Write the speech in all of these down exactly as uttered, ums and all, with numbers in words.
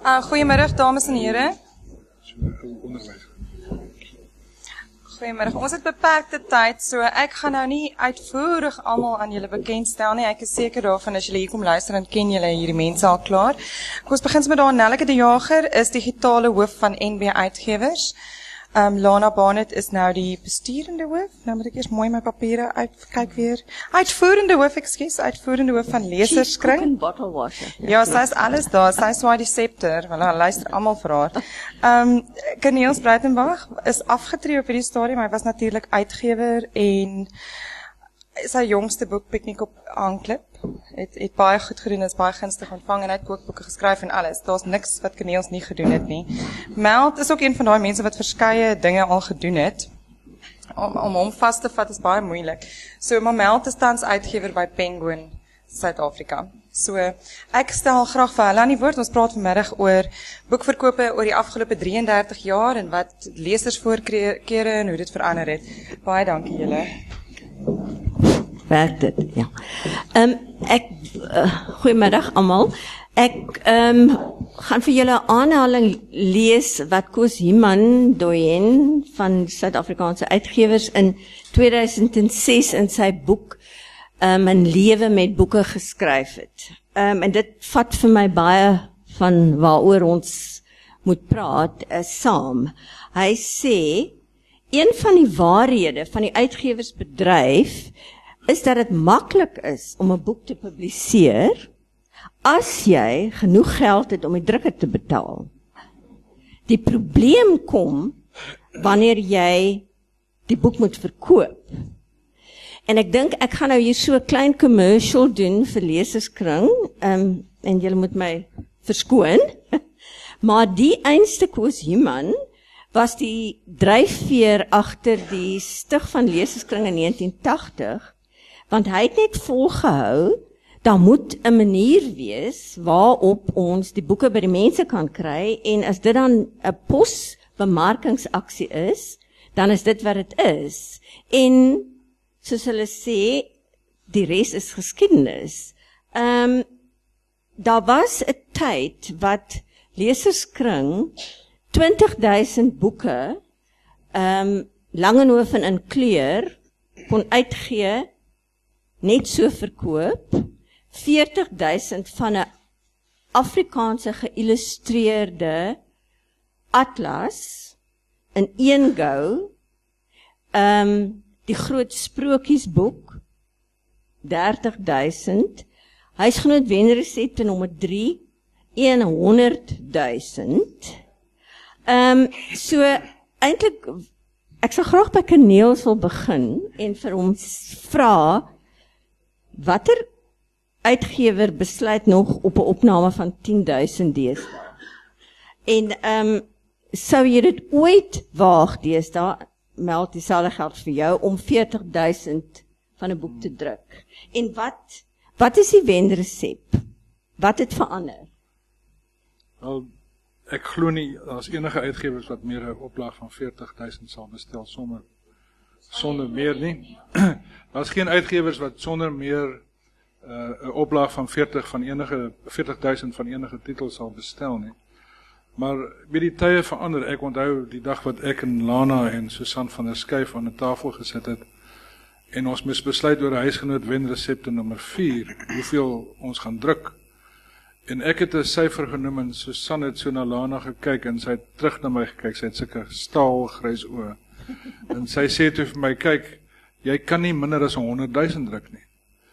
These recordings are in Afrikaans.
Uh, goeiemiddag dames en heren. Goeiemiddag, ons het beperkte tyd, so ek gaan nou nie uitvoerig almal aan julle bekendstel nie. Ek is seker daarvan as julle hier kom luister, dan ken julle hierdie mense al klaar. Kom ons begin met daar, Nelleke de Jager is digitale hoof van N B Uitgewers. Um, Lana Barnett is nou die besturende hoof. Nou moet ek eers mooi my papiere uitkyk weer. Uitvoerende hoof, ekskuus, uitvoerende hoof van Leserskring. Chief cook and bottle washer. Ja, sy is alles daar. Sy swaai die scepter. Want hulle luister almal vir haar. Um, Corneels Breitenbach is afgetree op hierdie stadium. Hy was natuurlik uitgewer en sy jongste boek, Piknik op Aanklip, het, het baie goed gedoen, is baie gunstig ontvang en hy het kookboeke geskryf en alles. Daar's niks wat Corneels nie gedoen het nie. Meld is ook een van daai mense wat verskeie dinge al gedoen het. Om, om hom vas te vat is baie moeilik. So, maar Meld is tans uitgewer by Penguin, Suid-Afrika. So, ek stel graag vir hulle aan die woord. Ons praat vanmiddag oor boekverkope oor die afgelope drieëndertig jaar en wat lesersvoorkere en hoe dit verander het. Baie dankie julle. Werk dit, ja. Um, ek, uh, goeiemiddag allemaal. Ek um, gaan vir julle 'n aanhaling lees wat Koos Himan Doyen van Suid-Afrikaanse Uitgewers in tweeduisend ses in sy boek um, 'n lewe met boeke geskryf het. Um, en dit vat vir my baie van waaroor ons moet praat uh, saam. Hy sê, een van die waarhede van die uitgewersbedryf is dat het maklik is om 'n boek te publiseer as jy genoeg geld het om die drukker te betaal. Die probleem kom wanneer jy die boek moet verkoop. En ek dink ek gaan nou hier so 'n klein commercial doen vir Leserskring, um, en julle moet my verskoon. Maar die einste Koos Himan was die dryfveer agter die stig van Leserskring in negentien tagtig, want hy het net volgehou, daar moet 'n manier wees waarop ons die boeke by die mense kan kry, en as dit dan 'n posbemarkingsaksie is, dan is dit wat dit is. En, soos hulle sê, die res is geskiedenis. Um, daar was 'n tyd wat Leserskring twintig duisend boeke, um, Langehoven in kleur, kon uitgee, net so verkoop, veertig duisend van 'n Afrikaanse geïllustreerde atlas, in een go, um, die groot sprokiesboek, dertig duisend, huisgenoot wenresepte nommer drie, honderd duisend. Um, so, eintlik, ek sal graag by Corneels wil begin, en vir hom vra, watter uitgewer besluit nog op 'n opname van tien duisend deesdae? En um, sou jy dit ooit waag deesdae, Meld, dieselfde geld vir jou, om veertig duisend van 'n boek te druk? En wat, wat is die wenresep? Wat het verander? Wel, ek glo nie, as enige uitgewers wat meer 'n oplaag van veertig duisend sal bestel, sonder, sonder meer nie. Daar is geen uitgewers wat sonder meer 'n uh, oplaag van veertig van enige veertig duisend van enige titel sal bestel nie. Maar by die tye verander. Ek onthou die dag wat ek en Lana en Susan van der Skyf aan 'n tafel gesit het en ons moes besluit oor 'n huisgenoot wenresepte nommer vier, hoeveel ons gaan druk. En ek het 'n syfer genoem en Susan het so na Lana gekyk en sy het terug na my gekyk. Sy het sulke staalgrys oë. En sy sê toe vir my, kyk, jy kan nie minder as honderd duisend druk nie.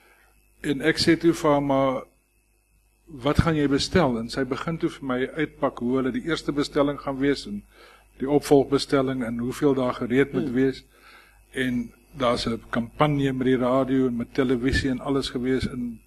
En ek sê toe vir haar, maar wat gaan jy bestel? En sy begin toe vir my uitpak hoe hulle die eerste bestelling gaan wees en die opvolgbestelling en hoeveel daar gereed moet wees. En daar's 'n kampanje met die radio en met televisie en alles gewees en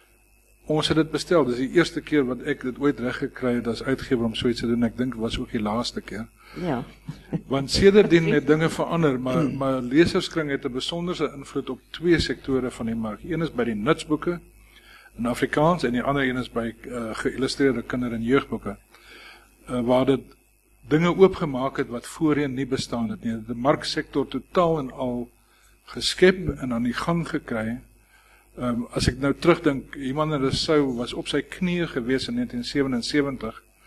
ons het dit bestel. Dis die eerste keer wat ek dit ooit reg gekry het as uitgewer om so iets te doen. Ek dink dit was ook die laaste keer. Ja. Want sedertdien het dinge verander, maar, maar Leserskring het 'n besonderse invloed op twee sektore van die mark. Een is by die nutsboeke in Afrikaans en die ander een is by uh, geïllustreerde kinder- en jeugboeke. Uh, waar dit dinge oopgemaak het wat voorheen nie bestaan het nie. Die marksektor totaal en al geskep en aan die gang gekry. Um, as ek nou terugdink, Iman Rousseau was op sy knieë gewees in negentien sewensewentig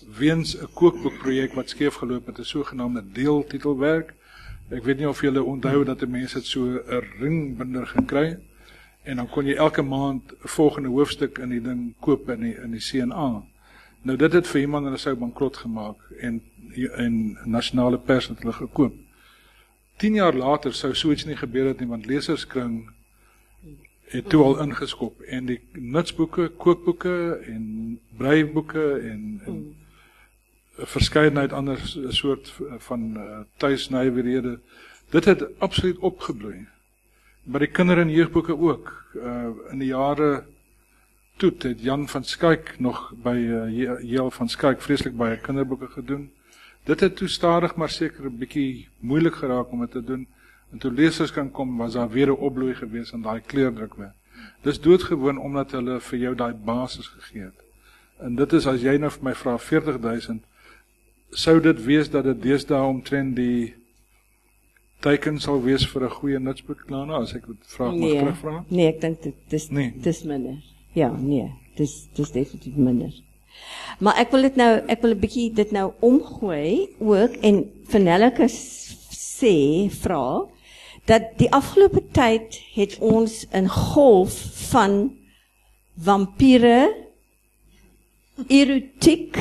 weens 'n kookboekprojek wat skeef geloop het, 'n sogenaamde deeltitelwerk. Ek weet nie of julle onthou dat die mense het so 'n ringbinder gekry en dan kon jy elke maand 'n volgende hoofstuk in die ding koop in die in die C N A. Nou dit het vir iemand hulle sou bankrot gemaak en en nasionale pers het hulle gekoop. Tien jaar later sou so iets nie gebeur het nie, want Leserskring het toe al ingeskop en die nutsboeke, kookboeke en breiboeke en, en verskeidenheid ander soort van uh, tuisnywerhede, dit het absoluut opgebloei. Maar die kinder- en jeugboeke ook. Uh, in die jare toe het Jan van Skyk nog by uh, J L van Skyk vreeslik baie kinderboeke gedoen. Dit het toe stadig maar seker 'n bietjie moeilik geraak om dit te doen. En toe lesers kan kom, was daar weer 'n opbloei gewees in daai kleurdrukwerk. Dis doodgewoon omdat hulle vir jou daai basis gegee het. En dit is, as jy nou vir my vra veertig duisend, sou dit wees dat dit deesdae omtrent die teiken sal wees vir 'n goeie nutsboek, Lana, as ek dit vraag nee, mag terugvra? Nee, ek dink dit is nee. dis minder. Ja, nee, dis dis definitief minder. Maar ek wil dit nou ek wil 'n bietjie dit nou omgooi ook en vir Nelleke sê vra dat die afgelope tyd het ons 'n golf van vampire, erotiek,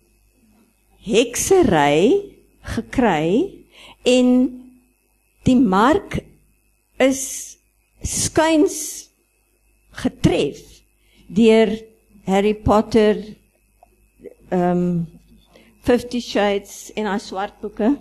heksery gekry en die mark is skuins getref deur Harry Potter, um, Fifty Shades en haar swart boeke.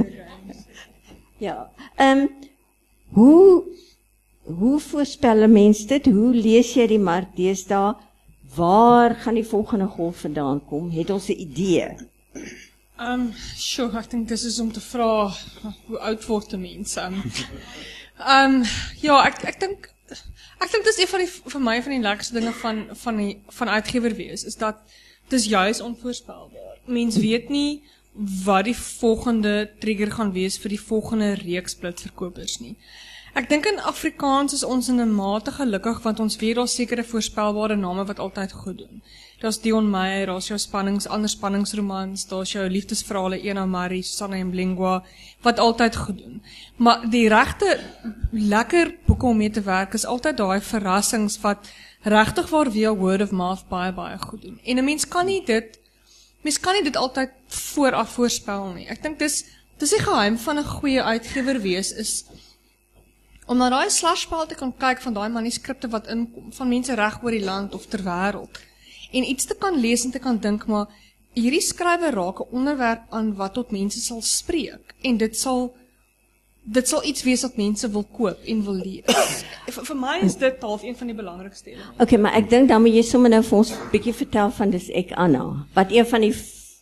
ja. Um, hoe hoe voorspel 'n mens dit? Hoe lees jy die mark deesdae? Waar gaan die volgende golf vandaan kom? Het ons 'n idee? Um, sure, ek dink dis is om te vra hoe oud word 'n mens. Um, um, ja, ek ek dink ek dink dis een van die vir my van die lekkerste dinge van van die van uitgewer wees is dat dis juis onvoorspelbaar. Mens weet nie wat die volgende trigger gaan wees vir die volgende reeks blitsverkopers nie. Ek dink in Afrikaans is ons in 'n mate gelukkig want ons weet daar's sekere voorspelbare name wat altyd goed doen. Daar's Dion Meyer, daar's jou spannings, ander spanningsromans, daar's jou liefdesverhale Ena Marie, Susanna Mlingwa wat altyd goed doen. Maar die regte lekker boeke om mee te werk is altyd daai verrassings wat regtig waar via word of mouth baie baie goed doen. En 'n mens kan nie dit mens kan nie dit altyd vooraf voorspel nie. Ek dink dis dis die geheim van 'n goeie uitgewer wees is om na daai slashpaal te kan kyk van daai manuskripte wat inkom van mense reg oor die land of ter wêreld en iets te kan lees en te kan dink maar hierdie skrywer raak 'n onderwerp aan wat tot mense sal spreek en dit sal dit sal iets wees wat mense wil koop en wil lees. vir, vir my is dit half een van die belangrikste elemente. Okay, maar ek dink dan moet jy sommer nou vir ons 'n bietjie vertel van dis ek Anna, wat een van die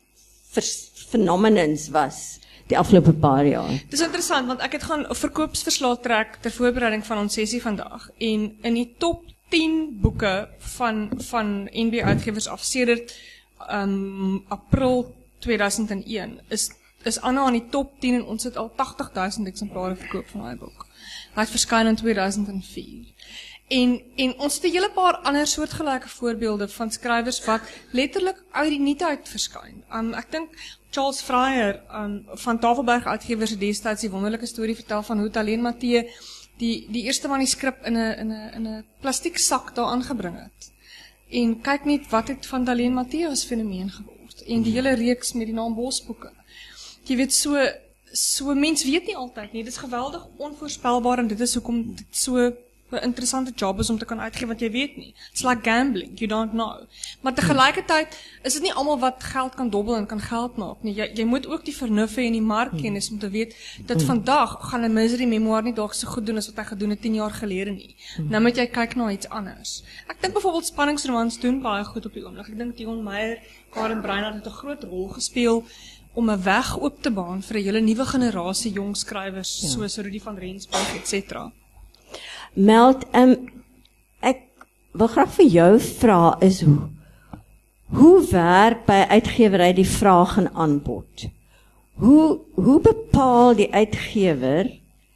phenomenons was die afgelope paar jaar. Dis interessant want ek het gaan 'n verkoopsverslag trek ter voorbereiding van ons sessie vandag en in die top tien boeke van van N B Uitgewers af sedert um, April tweeduisend een is is Anna aan die top tien en ons het al tagtig duisend eksemplare verkoop van daai boek. Hy het verskyn in tweeduisend vier. En en ons het 'n hele paar ander soortgelyke voorbeelde van skrywers wat letterlik uit die niet uit verskyn. Um, ek dink Charles Fryer um, van Tafelberg Uitgewers het destyds die wonderlike storie vertel van hoe Talien Matthee die die eerste manuskrip in 'n in 'n in 'n plastiek sak daar aangebring het. En kyk net wat het van Talien Matthee as fenomeen geword en die hele reeks met die naam Bosboeke. Jy weet so so mens weet nie altyd nie. Dit is geweldig onvoorspelbaar en dit is hoekom dit so 'n interessante job is om te kan uitgee wat jy weet nie. It's like gambling, you don't know. Maar tegelijkertijd is dit nie almal wat geld kan dobbel en kan geld maak nie. Jy, jy moet ook die vernuffe en die markkennis om te weet dat vandag gaan 'n misery memoir nie dalk so goed doen as wat hy gedoen het tien jaar gelede nie. Nou moet jy kyk na iets anders. Ek dink byvoorbeeld spanningsromans doen baie goed op die oomblik. Ek dink Dion Meyer, Karen Breinart het 'n groot rol gespeel om 'n weg oop te baan vir 'n hele nuwe generasie jong skrywers ja. soos Rudy van Rensburg et cetera. Meld, um, ek wil graag vir jou vra is hoe, hoe werk by uitgewery die vraag en aanbod? Hoe, hoe bepaal die uitgewer,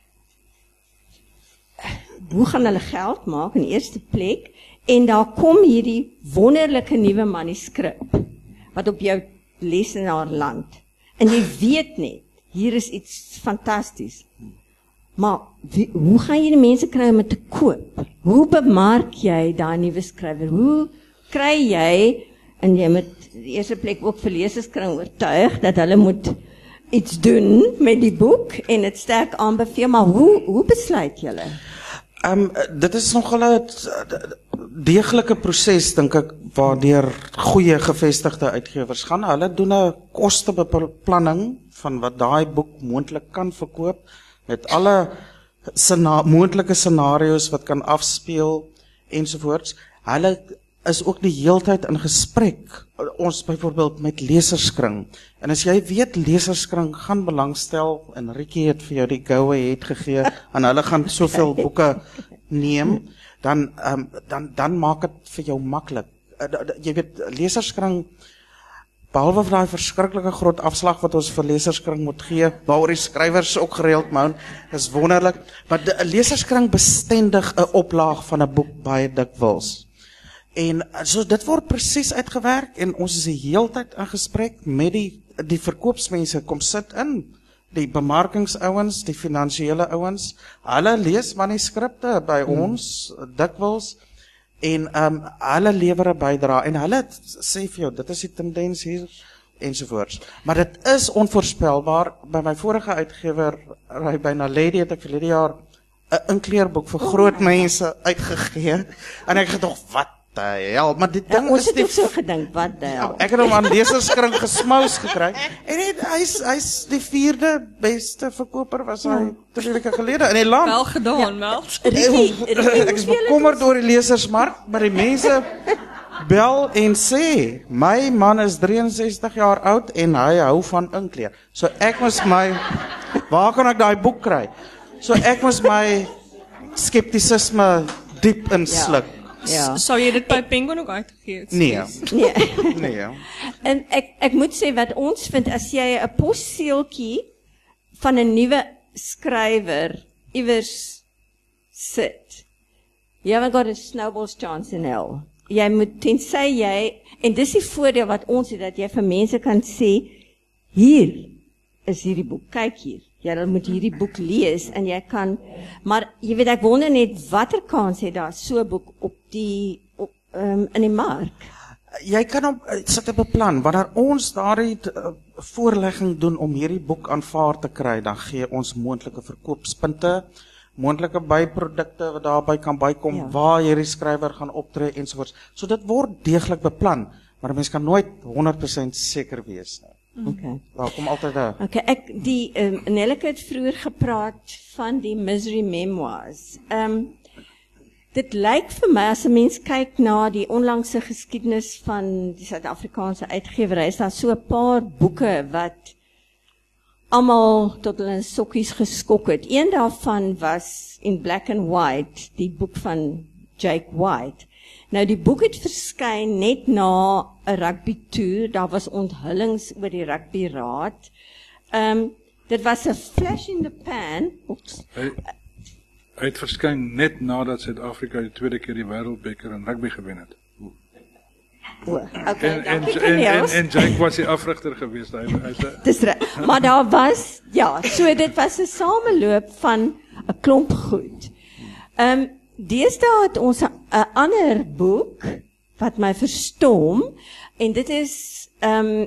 hoe gaan hulle geld maak in eerste plek, en daar kom hierdie wonderlike nuwe manuskrip, wat op jou lesenaarland. En jy weet net, hier is iets fantasties. Maar wie, hoe gaan jy die mense kry om het te koop? Hoe bemark jy daai nuwe skrywer? Hoe kry jy, en jy moet die eerste plek ook vir lesers kry oortuig, dat hulle moet iets doen met die boek, en het sterk aanbeveel, maar hoe, hoe besluit julle? Um, dit is nogal 'n deeglike proses, dink ek, waardeur goeie gevestigde uitgewers gaan. Hulle doen 'n kostebeplanning van wat daai boek moontlik kan verkoop, met alle sena moontlike scenario's wat kan afspeel, ensovoorts. Hulle is ook die heeltyd in gesprek, ons byvoorbeeld met leserskring. En as jy weet, leserskring gaan belangstel, en Rikkie het vir jou die go-ahead gegee, en hulle gaan soveel boeke neem, dan, um, dan, dan maak het vir jou maklik. Uh, jy weet, leserskring, behalwe vir daai verskriklike groot afslag wat ons vir leserskring moet gee, waaroor die skrywers ook gereeld moan, is wonderlik, maar 'n leserskring bestendig 'n oplaag van 'n boek baie dikwels. En so dit word presies uitgewerk, en ons is die heeltyd in gesprek met die, die verkoopsmense, kom sit in, die bemarkingsouens, die finansiële ouens, hulle lees manuskripte by hmm. ons, dikwels, en um, hulle lewer 'n bydrae, en hulle sê vir jou, dit is die tendens hier, ensovoorts. Maar dit is onvoorspelbaar. By my vorige uitgewer, by Naledi, het ek verlede jaar 'n inkleerboek vir groot mense uitgegee, en ek gedog, wat the hell, maar die ding ja, ons is het die... ook so gedink, wat the hell. Ek het hom aan leserskring gesmous gekry, en hy's hy's die vierde beste verkoper, was hy ja. drie weke gelede in die land. Wel gedaan, ja. Mel. Ek is bekommerd oor die lesersmark, maar die mense bel en sê, my man is drieënsestig jaar oud, en hy hou van inkleer. So ek moes my, waar kan ek daai boek kry? So ek moes my skeptisisme diep insluk. Ja. Ja. Sou jy dit by Penguin ook uitgegee? Nee. Nee. nee. En ek ek moet sê wat ons vind, as jy 'n posseeltjie van 'n nuwe skrywer iewers sit, you haven't got a snowball's chance in hell. Jy moet, tensy jy, en dis die voordeel wat ons het, dat jy vir mense kan sê, hier is hierdie boek, kyk hier. Jy moet hierdie boek lees, en jy kan, maar jy weet, ek wonder net, watter kans het daar so 'n boek op die, op, um, in die mark? Jy kan op, sit op 'n plan, wanneer ons daardie uh, voorlegging doen om hierdie boek aanvaar te kry, dan gee ons moontlike verkoopspunte, moontlike byprodukte wat daarby kan bykom, ja. waar hierdie skrywer gaan optree, ensovoorts. So dit word deeglik beplan, maar mens kan nooit honderd persent seker wees nie. Okay. Daar kom altyd 'n Okay, ek die um, Nelleke het vroeër gepraat van die Misery Memoirs. Ehm um, dit lyk vir my, as 'n mens kyk na die onlangse geskiedenis van die Suid-Afrikaanse uitgewery, is daar so 'n paar boeke wat almal tot hulle sokkies geskok het. Een daarvan was In Black and White, die boek van Jake White. Nou die boek het verskyn net na 'n rugby toer, daar was onthullings oor die rugby raad. Ehm um, dit was 'n flash in the pan. Hy, hy het verskyn net nadat Suid-Afrika die tweede keer die wêreldbeker in rugby gewen het. O, okay, en, en, en, en, en Jake was die afrigter geweest. Hy, hy, hy, Dis reg. Maar daar was, ja, so dit was 'n sameloop van 'n klomp goed. Ehm um, Deesdae het ons 'n ander boek wat my verstom, en dit is um,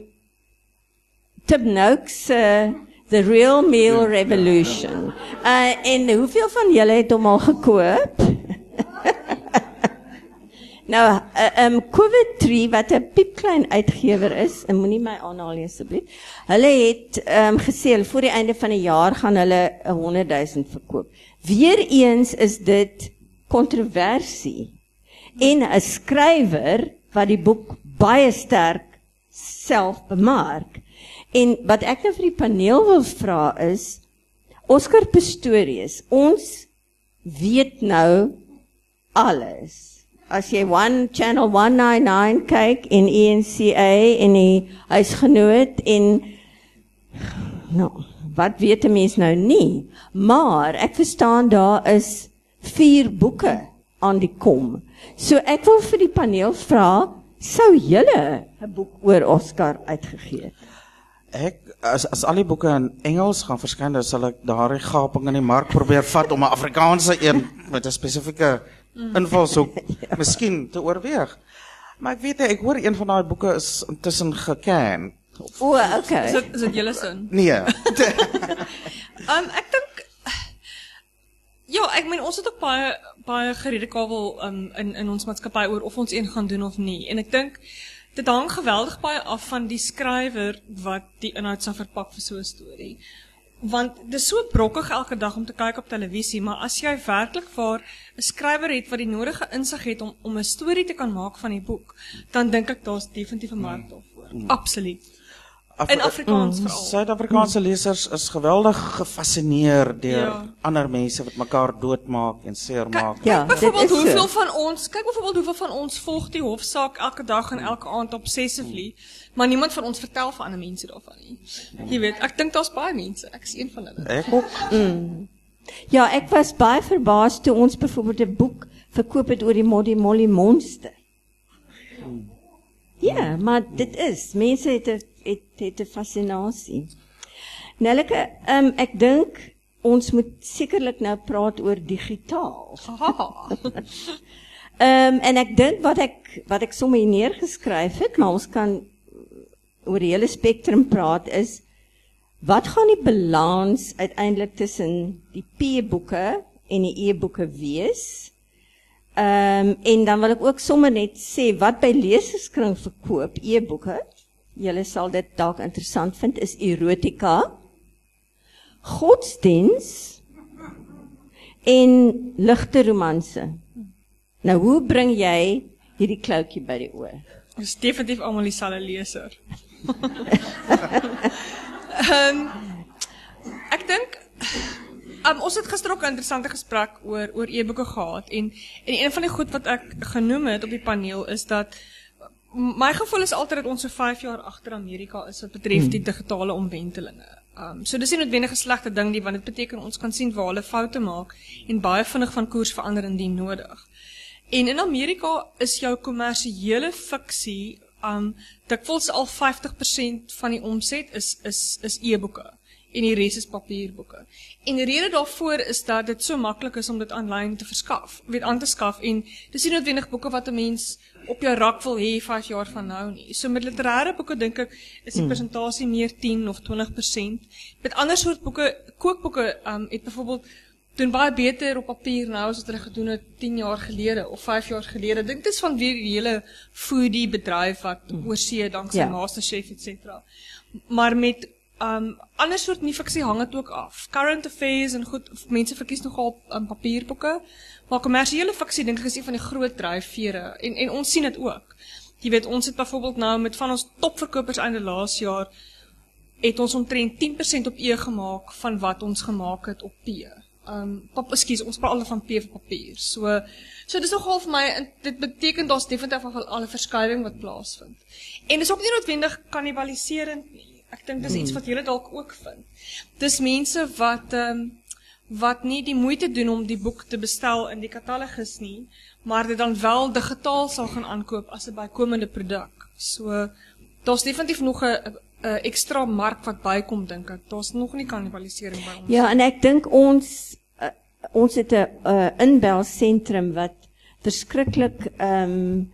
Tim Noakes uh, The Real Meal Revolution. Uh, en hoeveel van julle het hom al gekoop? nou, uh, um, Coventry, wat 'n piepklein uitgewer is, en moenie my aanhaal nie asseblief, hulle het um, gesê, voor die einde van die jaar gaan hulle honderd duisend verkoop. Weereens is dit kontroversie, en 'n skrywer wat die boek baie sterk self bemark. En wat ek nou vir die paneel wil vra is, Oscar Pistorius, ons weet nou alles. As jy one channel one ninety-nine kyk en E N C A en die huisgenoot en nou, wat weet 'n mens nou nie? Maar ek verstaan daar is vier boeke aan die kom. So ek wil vir die paneel vra, Sou julle 'n boek oor Oscar uitgegee het? Ek as as al die boeke in Engels gaan verskyn, dan sal ek daardie gaping in die mark probeer vat om 'n Afrikaanse een met 'n spesifieke invalshoek ja. miskien te oorweeg. Maar ek weet ek hoor een van daai boeke is intussen geken. O, okay. Is dit is dit julle sin? Nee. um, ek dink ja, ek meen ons het ook baie baie geredekabel um, in in ons maatskappy oor of ons een gaan doen of nie. En ek dink dit hang geweldig baie af van die skrywer wat die inhoud sal verpak vir so 'n storie. Want dit is so brokkig elke dag om te kyk op televisie, maar as jy werklik waar 'n skrywer het wat die nodige insig het om om 'n storie te kan maak van die boek, dan dink ek daar's definitief 'n mark daarvoor. Mm. Absoluut. Af In Afrikaans mm, veral. Suid-Afrikaanse mm. lesers is geweldig gefassineer deur ja. ander mense wat mekaar doodmaak en seermaak. Kyk, Ja, kyk byvoorbeeld dit is hoeveel so. van ons, kyk byvoorbeeld hoeveel van ons volg die hofsaak elke dag en elke aand obsessively, maar niemand van ons vertel vir ander mense daarvan nie. Jy weet, ek dink daar's baie mense, ek is een van hulle. Ek ook. Mm. Ja, ek was baie verbaas toe ons byvoorbeeld 'n boek verkoop het oor die Molly Molly monster. Ja, maar dit is, mense het 'n het het 'n fascinasie. Nelleke, um, ek dink ons moet sekerlik nou praat oor digitaal. um, en ek dink wat ek wat ek sommer hier neergeskryf het, maar ons kan oor die hele spektrum praat is wat gaan die balans uiteindelik tussen die P-boeke en die E-boeke wees? Ehm um, en dan wil ek ook sommer net sê wat by leserskring verkoop E-boeke. Julle sal dit dalk interessant vind is erotika, godsdiens en ligte romanse. Nou hoe bring jy hierdie kloutjie by die oor? Ons is definitief almal dieselfde leser. um, ek dink um, ons het gister ook 'n interessante gesprek oor oor e-boeke gehad en en een van die goed wat ek genoem het op die paneel is dat my gevoel is altyd dat ons so vyf jaar agter Amerika is wat betref die digitale omwentelinge. Um, so dis nie noodwendig 'n slegte ding nie, want dit beteken ons kan sien waar hulle foute maak en baie vinnig van koers verander indien nodig. En in Amerika is jou kommersiële fiksie um dikwels al vyftig persent van die omset is is is e-boeke en die res is papierboeke. En die rede daarvoor is dat dit so maklik is om dit aanlyn te verskaf, weet aan te skaf en dis nie noodwendig boeke wat 'n mens op jou rak wil hê vyf jaar van nou nie. So met literêre boeke dink ek is die persentasie meer tien of twintig persent. Met ander soort boeke, kookboeke um het byvoorbeeld doen baie beter op papier nou as wat hulle gedoen het tien jaar gelede of vyf jaar gelede. Ek dink dit is van weer die hele foodie bedryf wat mm. oorsee danksy ja. MasterChef et cetera. Maar met um ander soort nie fiksie hang dit ook af. Current affairs en goed, mense verkies nogal um, papierboeke, maar kommersiële fiksie dink ek is een van die groot dryfvere en en ons sien dit ook. Jy weet, ons het byvoorbeeld nou met van ons topverkopers einde laas jaar het ons omtrent tien persent op E gemaak van wat ons gemaak het op P. Um, pap, excuse, ons praat al van P vir papier. So, so dis nogal vir my, dit beteken daar's definitief al 'n verskuiwing wat plaasvind. En dis ook nie noodwendig kannibaliserend nie. Ek dink dis iets wat julle dalk ook vind. Dis mense wat um, wat nie die moeite doen om die boek te bestel in die katalogus nie, maar dit dan wel digitaal sal gaan aankoop as 'n bykomende produk. So, daar's definitief nog 'n Uh, ekstra mark wat bykom, dink ek. Daar's nog nie kannibalisering by ons. Ja, en ek dink ons uh, ons het 'n uh, inbelsentrum wat verskriklik ehm um,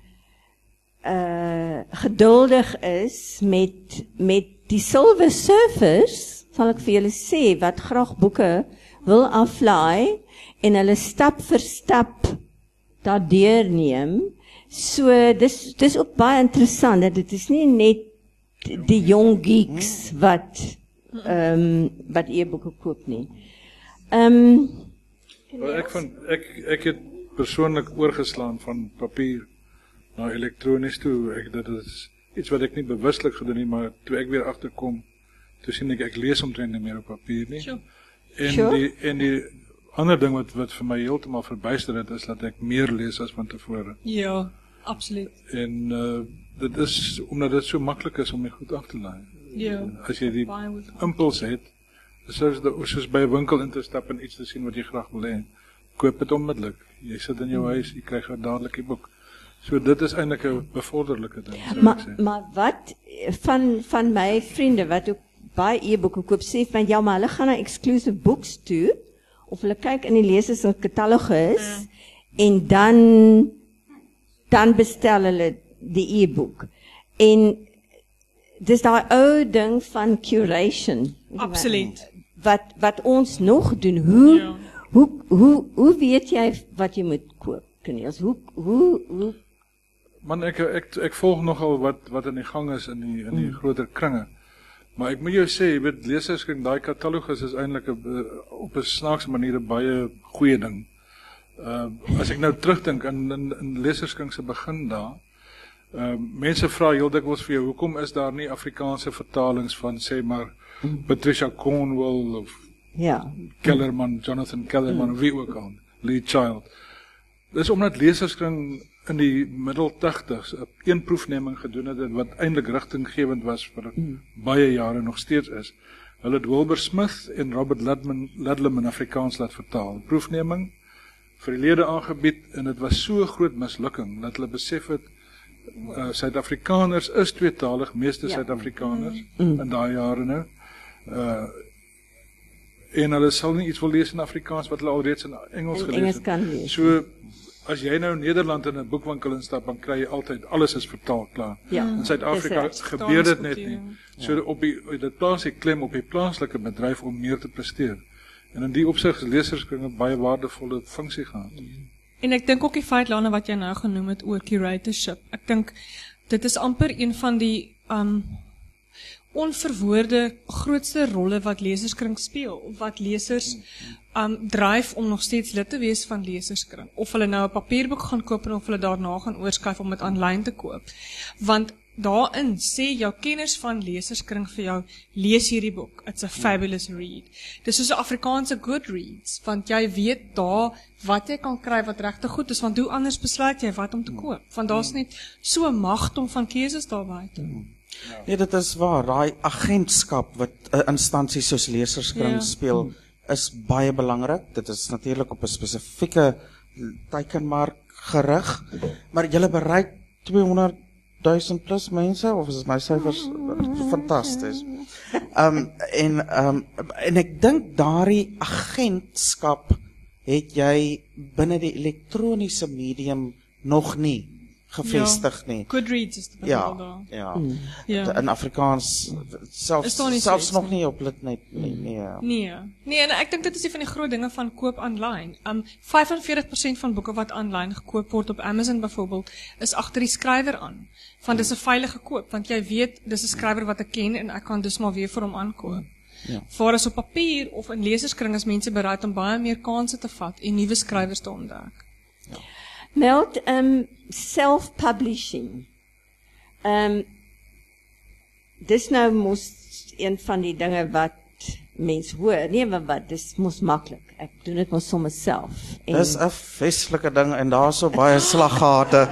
uh, geduldig is met met die silver surfers, sal ek vir julle sê, wat graag boeke wil aflaai en hulle stap vir stap daardeur neem. So dis dis ook baie interessant dat dit is nie net die jong geeks wat ehm um, wat e-boeke koop nie. Ehm um, Well, ek van ek ek het persoonlik oorgeslaan van papier na elektronies toe. Ek dit is iets wat ek nie bewuslik gedoen het, maar toe ek weer agterkom, toe sien ek ek lees omtrent nie meer op papier nie. Sure. En Sure. die en die ander ding wat wat vir my heeltemal verbuister het is dat ek meer lees as van tevore. Ja, absoluut. En uh, dit is omdat dit so maklik is om dit goed af te laai. Ja. As jy die Baie goed. impuls het, soos die, soos by 'n winkel in te stap en iets te sien wat jy graag wil hê, koop dit onmiddellik. Jy sit in jou huis, jy kry dadelik die boek. So dit is eintlik 'n bevorderlike ding. sou ek Maar sê. maar wat van van my vriende wat ook baie e-boeke koop sê van ja, maar hulle gaan na exclusive books toe of hulle kyk in die lesers se katalogus ja. en dan dan bestel hulle die e-boek. En dis daai ou ding van curation. Absoluut. Wat wat ons nog doen. Hoe Ja. hoe hoe hoe weet jy wat jy moet koop? Keniels, hoe hoe hoe Man, ek ek ek volg nogal wat wat in die gang is in die in die groter kringe. Maar ek moet jou sê, jy weet leserskring, daai katalogus is eintlik 'n op 'n snaakse manier 'n baie goeie ding. Uh as ek nou terugdink in in, in leserskring se begin daar, uh mense vra heel dikwels vir jou, hoekom is daar nie Afrikaanse vertalings van sê maar Patricia Cornwell of ja. Kellerman, Jonathan Kellerman, wie ook al, Lee Child. Dis omdat leserskring in die middel tachtigs 'n een proefneming gedoen het wat eintlik rigtinggewend was vir mm. baie jare nog steeds is. Hulle het Wilbur Smith en Robert Ludlam, Ludlam in Afrikaans laat vertaal. Proefneming vir die lede aangebied en dit was so 'n groot mislukking dat hulle besef het uh, Suid-Afrikaners is tweetalig, meeste ja. Suid-Afrikaners mm. in daai jare nou. Uh, en hulle sal nie iets wil lees in Afrikaans wat hulle alreeds in Engels gelees Engels het. kan lees. So as jy nou in Nederland in 'n boekwinkel instap, dan kry jy altyd alles is vertaal klaar. Ja. In Suid-Afrika Dis gebeur dit net nie. Taalskultuur. So op die dit plaas die klem op die plaaslike bedryf om meer te presteer. En in die opsig is leserskringe baie waardevolle funksie gehad. En ek dink ook die feit Lana wat jy nou genoem het oor curatorship. Ek dink dit is amper een van die um onverwoorde grootste rolle wat leserskring speel, wat lesers um dryf om nog steeds lid te wees van leserskring, of hulle nou 'n papierboek gaan koop en of hulle daarna gaan oorskuif om dit aanlyn te koop. Want daarin sê jou kenners van leserskring vir jou, lees hierdie boek, it's a fabulous read. Dis soos 'n Afrikaanse Goodreads, want jy weet daar wat jy kan kry wat regtig goed is, want hoe anders besluit jy wat om te koop? Want daar's net so 'n magdom van keuses daar buite. Nee, dit is waar. Daai agentskap wat 'n uh, instansie soos leserskring Ja. speel, is baie belangrik. Dit is natuurlik op 'n spesifieke teikenmark gerig, maar jy bereik tweehonderdduisend plus mense, of is dit my syfers fantasties. Um en um en ek dink daardie agentskap het jy binne die elektroniese medium nog nie gevestig nie. Goodreads is die Ja, bedoel daar. ja. Ja. In Afrikaans selfs Is daar nie selfs so nog iets nie op Litnet nie. Nee. Nee, nee, en ek dink dit is een van die groot dinge van koop aanlyn. Um vyf en veertig persent van boeke wat aanlyn gekoop word op Amazon byvoorbeeld, is agter die skrywer aan. Want dis 'n veilige koop, want jy weet dis 'n skrywer wat ek ken en ek kan dus maar weer vir hom aankoop. Ja. Waar as op papier of in leserskring is mense bereid om baie meer kansse te vat en nuwe skrywers te ontdek. Meld um self-publishing. Um dis nou mos een van die dinge wat mens hoor. Nee, maar wat, dis mos maklik. Ek doen dit mos sommer self. En Dis 'n feestelike ding en daar's so baie slaggate.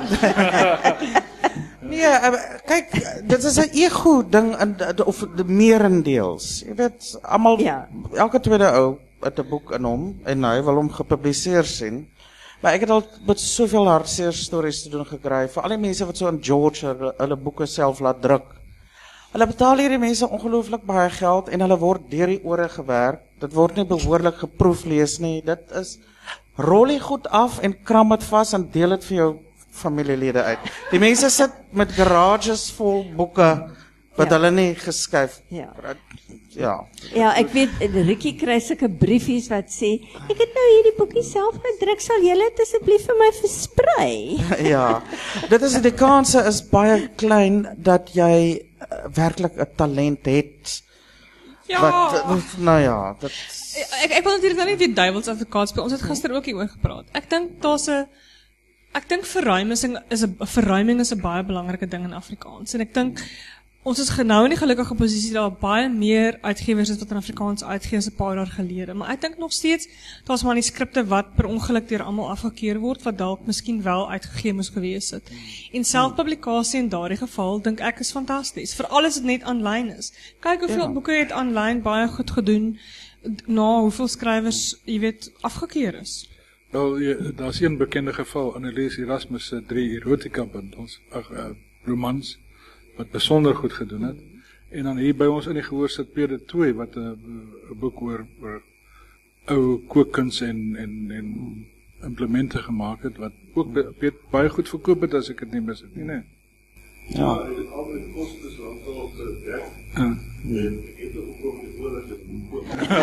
Nee, uh, kyk, dit is 'n ego ding in of die meerendeels. Jy weet, almal Ja. elke tweede ou het 'n boek in hom en hy wil hom gepubliseer sien. Maar ek het al met soveel hartseer stories te doen gekry vir al die mense wat so in George hulle, hulle boeke self laat druk. Hulle betaal hierdie mense ongelooflik baie geld en hulle word deur die ore gewerk. Dit word nie behoorlik geproeflees nie. Dit is rol die goed af en kram dit vas en deel dit vir jou familielede uit. Die mense sit met garages vol boeke wat Ja. hulle nie geskuif. Ja. Ja. Ja, ek weet Rikkie kry sulke briefies wat sê, ek het nou hierdie boekie self gedruk, sal julle dit asseblief vir my versprei? Ja. Dit is die kanse is baie klein dat jy uh, werklik 'n talent het. Ja. Wat nou ja, dit Ek ek wil natuurlik nou nie weer duiwels advokaat speel. Ons het gister ook hieroor gepraat. Ek dink daar's 'n ek dink verruiming is 'n verruiming is 'n baie belangrike ding in Afrikaans. En ek dink ons is genou in die gelukkige posisie dat daar baie meer uitgewers is wat in Afrikaans uitgee as 'n paar jaar gelede. Maar ek dink nog steeds daar's manuskripte wat per ongeluk deur almal afgekeur word wat dalk miskien wel uitgegee moes gewees het. En selfpublikasie in daardie geval dink ek is fantasties. Veral as dit net aanlyn is. Kyk hoeveel Ja. boeke het aanlyn baie goed gedoen na hoeveel skrywers, jy weet, afgekeur is. Wel, jy- daar's een bekende geval, Annelies Erasmus se drie erotica bundels, ag uh, romans wat besonder goed gedoen het. En dan hier by ons in die gehoor sit Peter Tooi wat 'n uh, boek oor oor ou kookkuns en en en implemente gemaak het wat ook be, baie goed verkoop het as ek dit nie mis het nie, nee. Ja. Dit is altyd kostes rond op die weg. Uh. En ek het ook ook die oorlog het gekoop.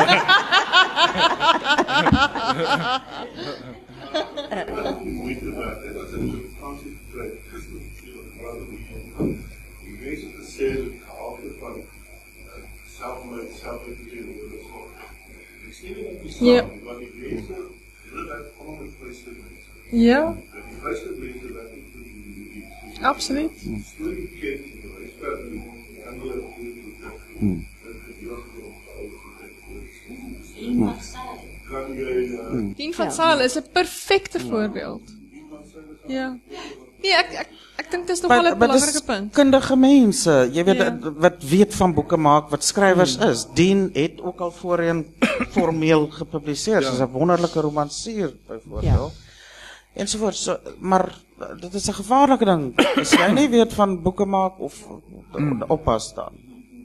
Moeite werd, hè. Dat is een vakantie gekry. Gister die mense te sê dat die gehalte van selfmoord, selfverdediging oor die sorg. Ek sê nie dat die saam, want die mense, hulle werk gewoon met vryste mense. Ja, Die vryste mense werk nie vir die absoluut. storie ken, die vryste die ander Hmm. kan jy uh, Dien van Sail is 'n perfekte voorbeeld. Ja. Nee, ek ek ek dink dit is nogal 'n Maar- maar dis belangrike punt. Kundige mense, jy weet Ja. wat weet van boeke maak, wat skrywers is. Dien het ook al voorheen formeel gepubliseer, soos 'n wonderlike romansier byvoorbeeld. Ensovoorts, so, maar uh, dit is 'n gevaarlike ding. As jy nie weet van boeke maak of uh, oppas dan.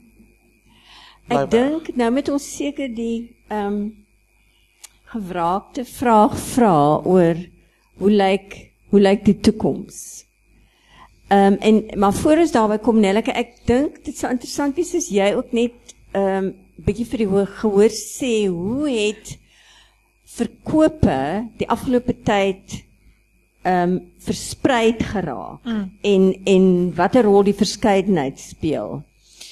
Ek dink nou met ons seker die ehm um, gewraakte vraag vra oor hoe lyk hoe lyk die toekoms. Ehm um, en maar voor ons daarby kom Nelleke, ek dink dit sou interessant wees as jy ook net ehm um, bietjie vir die hoor, gehoor sê hoe het verkope die afgelope tyd ehm um, verspreid geraak mm. en en watter rol die verskeidenheid speel.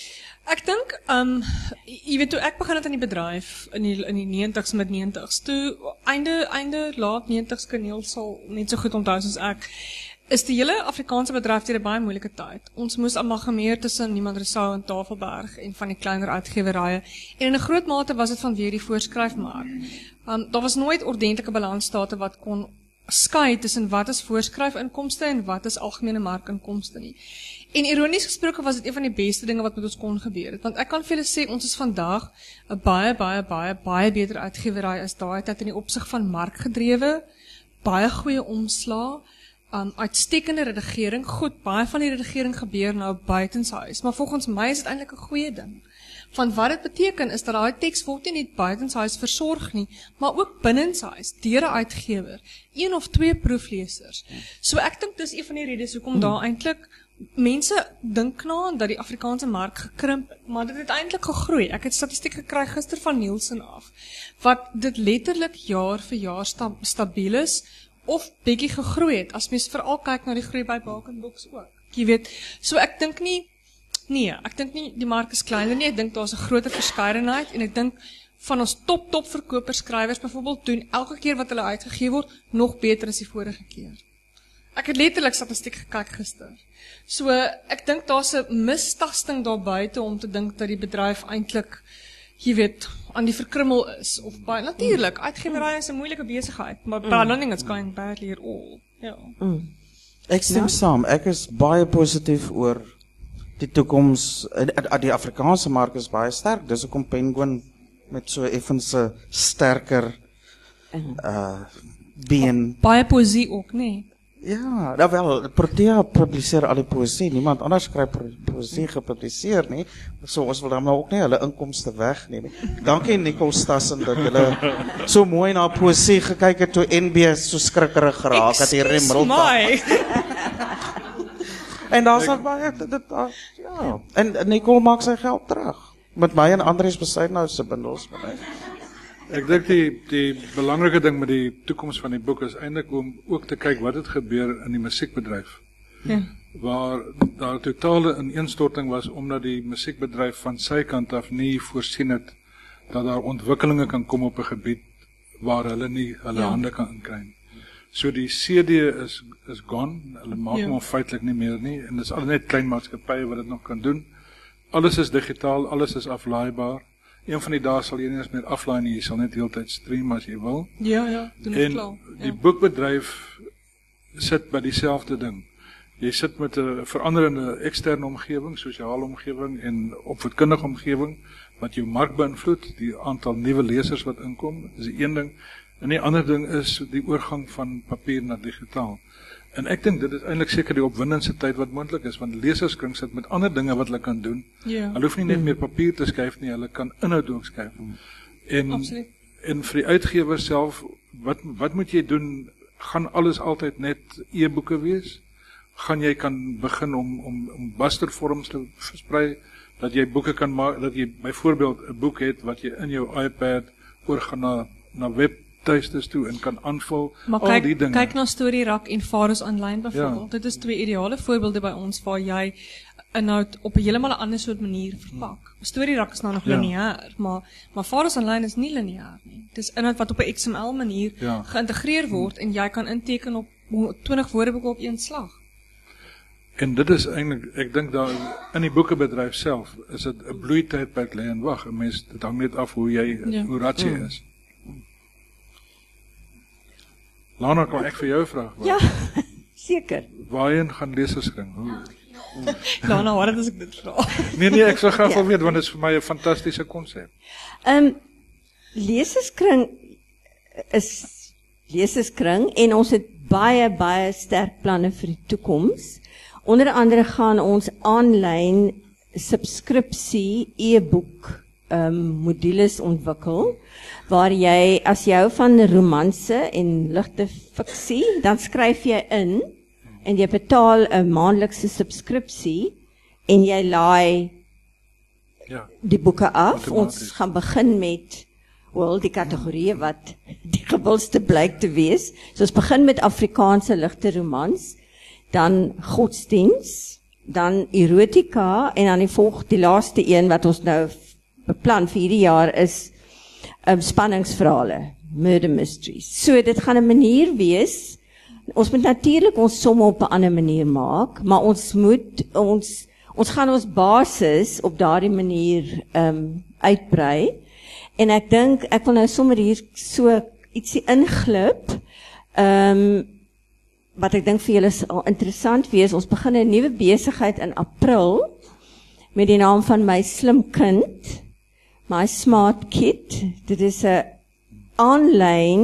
Ek dink, um, jy weet toe ek begin het in die bedryf in die in die negentigs met negentigs, toe einde einde laat negentigs Kaneel sal net so goed onthou soos ek, is die hele Afrikaanse bedryf deur 'n baie moeilike tyd. Ons moes amalgameer tussen Niemand Rousseau en Tafelberg en van die kleiner uitgewerye en in 'n groot mate was dit vanweer die voorskryfmark. Um, daar was nooit ordentlike balansstate wat kon skei tussen wat is voorskryfinkomste en wat is algemene markinkomste nie. En ironies gesproke was dit een van die beste dinge wat met ons kon gebeur het, want ek kan vir julle sê ons is vandag 'n baie baie baie baie beter uitgewery as daai tyd in die opsig van markgedrewe, baie goeie omslaa, um, uitstekende redigering. Goed, baie van die redigering gebeur nou buitenshuis, maar volgens my is dit eintlik 'n goeie ding. Van wat dit beteken is dat daai teks word nie net buitenshuis versorg nie, maar ook binnenshuis deur 'n uitgewer, een of twee proeflesers. So ek dink dis een van die redes hoekom hmm. daar eintlik mense dink na dat die Afrikaanse mark gekrimp het, maar dit het eintlik gegroei. Ek het statistiek gekry gister van Nielsen af, wat dit letterlik jaar vir jaar sta, stabiel is, of bietjie gegroei het, as mens veral kyk na die groei by Bakenboks ook. Jy weet, so ek dink nie, nee, ek dink nie die mark is kleiner nie, ek dink daar is 'n groter verskeidenheid, en ek dink van ons top top verkoper skrywers byvoorbeeld doen elke keer wat hulle uitgegee word, nog beter as die vorige keer. Ek het letterlik statistiek gekyk gister. So, ek dink daar's 'n mistasting daar buite om te dink dat die bedryf eintlik, jy weet, aan die verkrummel is, of baie, natuurlik, uitgewerry is 'n moeilike besigheid, maar mm. learning is going badly at all. Ja. Mm. Ek stem ja? saam, ek is baie positief oor die toekoms, die Afrikaanse mark is baie sterk, dis hoekom Penguin met so effens 'n sterker uh, been. Baie poesie ook, nee. Ja, nou wel, Protea publiseer al die poesie, niemand anders skryf poesie gepubliseer nie, so ons wil dan nou ook nie hulle inkomste wegneem nie. Dankie Nicole Stassen dat julle so mooi na poesie gekyk het toe N B so skrikkerig geraak het hier in Middelburg. En daar's nog baie dit, dit ja, en Nicole maak sy geld terug met my en Andries Besuidenhout se bundels met my. Ek dink die die belangrike ding met die toekoms van die boek is eintlik om ook te kyk wat het gebeur in die musiekbedryf. Ja. Waar daar totale ineenstorting was omdat die musiekbedryf van sy kant af nie voorsien het dat daar ontwikkelinge kan kom op 'n gebied waar hulle nie hulle ja. hande kan inkry nie. So die C D is is gone. Hulle maak ja. hom feitelik nie meer nie en dis al net klein maatskappye wat dit nog kan doen. Alles is digitaal, alles is aflaaibaar. Een van die dae sal jy nie eens meer aflaai nie, jy sal net heeltyd stream as jy wil. Ja, ja, doen dit klaar. En die boekbedryf sit by dieselfde ding. Jy sit met 'n veranderende eksterne omgewing, sosiale omgewing en opvoedkundige omgewing wat jou mark beïnvloed, die aantal nuwe lesers wat inkom, is die een ding. En die ander ding is die oorgang van papier na digitaal. En ek dink dit is eintlik seker die opwindendste tyd wat moontlik is, want leserskring sit met ander dinge wat hulle kan doen. Ja. Hulle hoef nie net meer papier te skryf nie, hulle kan inhoud ook skryf. En, Absoluut. en vir die uitgewer self, wat, wat moet jy doen? Gaan alles altyd net e-boeke wees? Gaan jy kan begin om, om, om bustervorms te versprei, dat jy boeke kan maak, dat jy byvoorbeeld 'n boek het wat jy in jou iPad oorgaan na, na webtuistes toe en kan aanvul, Maar al kyk, die dinge. kyk na StoryRack en Faros Online byvoorbeeld. Ja. Dit is twee ideale voorbeelde by ons waar jy inhoud op 'n heeltemal 'n ander soort manier verpak. StoryRack is nou nog Ja. lineêr, maar maar Faros Online is nie lineêr nie. Dis inhoud wat op 'n X M L manier Ja. geïntegreer word en jy kan inteken op twintig woordeboeke op een slag. En dit is eintlik, ek dink daar in die boekebedryf self, is dit 'n bloeitydperk lê en wag. 'n Mens, dit hang net af hoe jy, Ja. hoe rad jy is. Lana, kan ek vir jou vra? Ja, seker. Waarheen gaan leserskring? Hoe? Lana, wat as ek dit vra? Nee nee, ek sou graag wil weet want dit is vir my 'n fantastiese konsep. Ehm um, leserskring is leserskring en ons het baie baie sterk planne vir die toekoms. Onder andere gaan ons aanlyn subskripsie e-boek ehm um, modules ontwikkel waar jy as jy hou van romanse en ligte fiksie, dan skryf jy in en jy betaal 'n maandelikse subskripsie en jy laai Ja. die boeke af. Outomaties. Ons gaan begin met wel die kategorieë wat die gewildste blyk te wees. So ons begin met Afrikaanse ligte romans, dan godsdiens, dan erotika en dan die volg die laaste een wat ons nou beplan vir hierdie jaar is um, spanningsverhale, murder mysteries. So dit gaan 'n manier wees. Ons moet natuurlik ons somme op 'n ander manier maak, maar ons moet ons ons gaan ons basis op daardie manier um, uitbrei. En ek dink ek wil nou sommer hier so ietsie inglip. Ehm um, wat ek dink vir julle sal interessant wees. Ons begin 'n nuwe besigheid in April met die naam van My Slim Kind, My Smart Kid. Dit is 'n aanlyn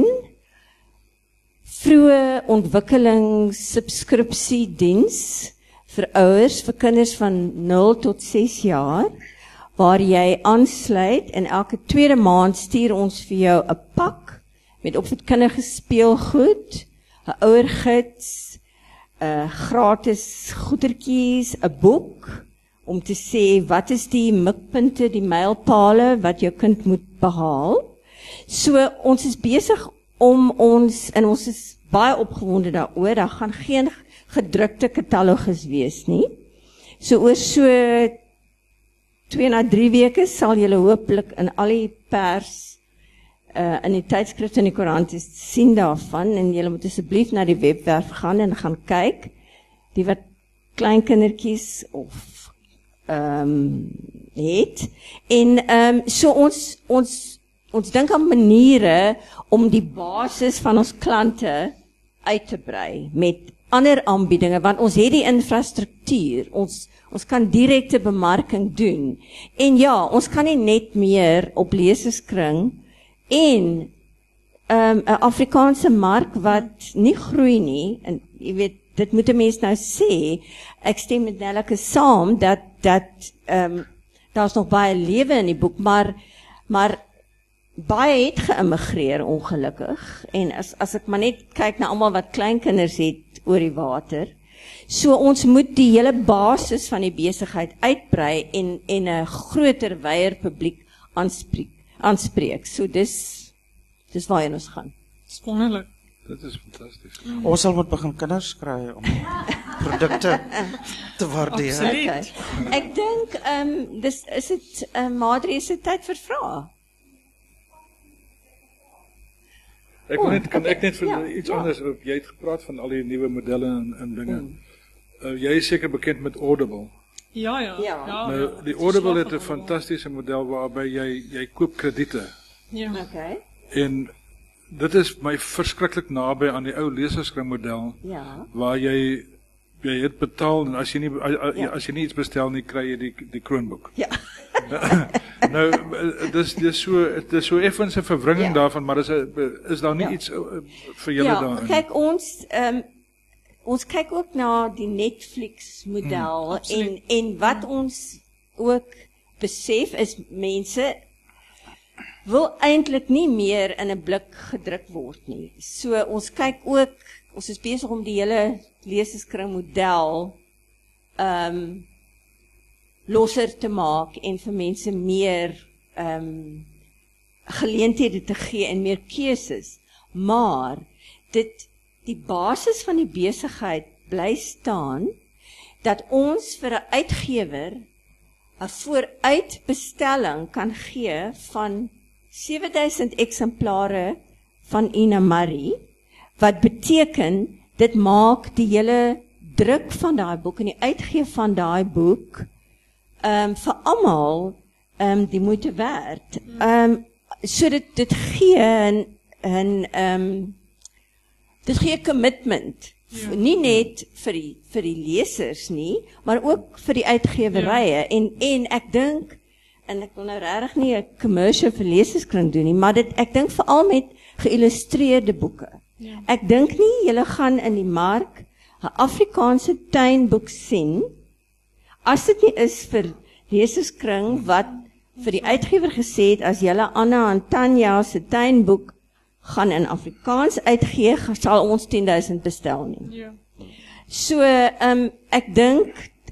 vroeë ontwikkelingssubskripsiediens vir ouers vir kinders van nul tot ses jaar waar jy aansluit en elke tweede maand stuur ons vir jou 'n pak met opvoedkundige speelgoed, 'n ouergids, 'n gratis goedertjies, 'n boek om te sê wat is die mikpunte, die mylpale wat jou kind moet behaal. So ons is besig om ons en ons is baie opgewonde daaroor. Daar gaan geen gedrukte katalogus wees nie. So oor so twee na drie weke sal julle hopelik in al die pers uh, in die tydskrifte en die koerante sien daarvan en julle moet asseblief na die webwerf gaan en gaan kyk. Die wat klein kindertjies of ehm um, het en ehm um, so ons ons ons dink aan maniere om die basis van ons klante uit te brei met ander aanbiedinge want ons het die infrastruktuur. Ons ons kan direkte bemarking doen. En ja, ons kan nie net meer op leserskring en ehm um, 'n Afrikaanse mark wat nie groei nie en jy weet dit moet 'n mens nou sê. Ek stem met Nelleke saam dat dat ehm um, daar's nog baie lewe in die boek, maar maar baie het geïmmigreer ongelukkig en as as ek maar net kyk na almal wat kleinkinders het oor die water. So ons moet die hele basis van die besigheid uitbrei en en 'n groter wyeer publiek aanspreek aanspreek. So dis dis waarheen ons gaan. Dis wonderlik. Dit is fantasties. Mm. Ons sal moet begin kinders kry om produkte te waardeer. Absoluut. Okay. Ek dink ehm um, dis is dit ehm um, Madri is dit tyd vir vrae. Ek wil net, kan ek net vir Ja, iets ja. anders op. Jy het gepraat van al die nuwe modelle en, en dinge. Uh, jy is seker bekend met Audible. Ja, ja. Ja. Nou, ja. die Audible het 'n fantastiese model waarby jy jy koop krediete. Ja. Okay. En dit is my verskriklik naby aan die ou leserskringmodel Ja. waar jy jy het betaal en as jy nie as, Ja. as jy nie iets bestel nie kry jy die die kroonboek. Ja. nou, dis dis so dis so effens 'n verwringing Ja. daarvan, maar is is daar nie Ja. iets uh, vir julle Ja, daarin? kyk ons um, ons kyk ook na die Netflix model Hmm, en en wat ons ook besef is mense wil eintlik nie meer in 'n blik gedruk word nie. So ons kyk ook, ons is besig om die hele leserskring model ehm um, losser te maak en vir mense meer ehm um, geleenthede te gee en meer keuses. Maar dit die basis van die besigheid bly staan dat ons vir 'n uitgewer 'n vooruitbestelling kan gee van sewe duisend eksemplare van Ina Marie, wat beteken dit maak die hele druk van daai boek en die uitgee van daai boek um, vir almal um, die moeite werd. Um, so dit dit gee 'n 'n um, dit gee commitment. Ja. Nie net vir die vir die lesers nie, maar ook vir die uitgewerye. Ja. En en ek dink en ek wil nou regtig nie 'n commercial vir leserskring doen nie, maar dit ek dink veral met geïllustreerde boeke. Ja. Ek dink nie julle gaan in die mark 'n Afrikaanse tuinboek sien as dit nie is vir leserskring wat vir die uitgewer gesê het as julle Anna en Tanya se tuinboek gaan in Afrikaans uitgee, sal ons tien duisend bestel nie. Ja. So, um, ek dink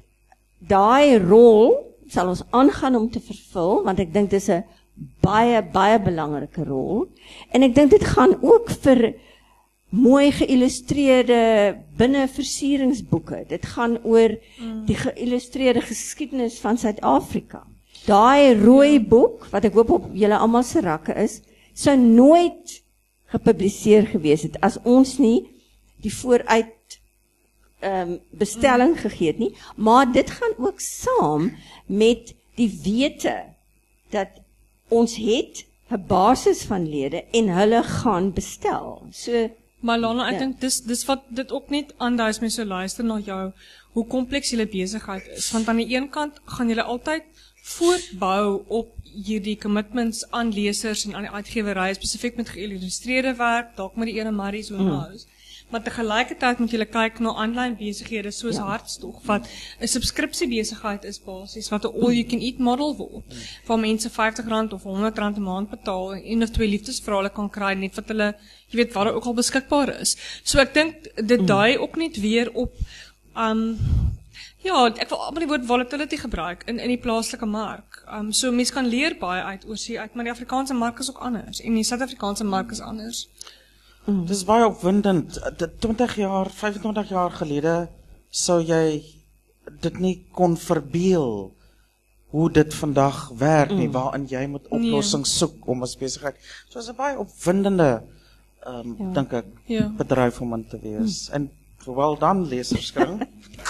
daai rol sal ons aangaan om te vervul, want ek dink dis 'n baie baie belangrike rol. En ek dink dit gaan ook vir mooi geïllustreerde binneversieringsboeke. Dit gaan oor mm. die geïllustreerde geskiedenis van Suid-Afrika. Daai rooi boek wat ek hoop op julle almal se rakke is, sou nooit gepubliseer gewees het as ons nie die vooruit um, bestelling mm. gegee het nie, maar dit gaan ook saam met die wete dat ons het 'n basis van lede en hulle gaan bestel. So Maar Lana, ek ja. dink dis dis wat dit ook net aandui as mense so luister na jou hoe kompleks julle besigheid is, want aan die een kant gaan julle altyd voortbou op hierdie commitments aan lesers en aan die uitgewerye spesifiek met geïllustreerde werk, dalk met die ene Marie so Mm. nou. Maar tegelijkertijd moet julle kyk na aanlyn besighede soos Ja. Hartstog wat 'n subskripsiebesigheid is basies wat 'n all you can eat model word waar mense vyftig rand of honderd rand 'n maand betaal en een of twee liefdesverhale kan kry net wat hulle jy weet waar ook al beskikbaar is. So ek dink dit dui ook net weer op um ja, ek wil amper die woord volatility gebruik in in die plaaslike mark. Um so mense kan leer baie uit oorsee uit, maar die Afrikaanse mark is ook anders en die Suid-Afrikaanse mark is anders. Mm. Dis baie opwindend. twintig jaar, vyfentwintig jaar gelede sou jy dit nie kon verbeel hoe dit vandag werk nie, mm. waarin jy moet oplossings nee. soek om as besigheid. So is 'n baie opwindende um, ja. dink ek ja. bedryf om in te wees. Mm. En wel dan leserskring.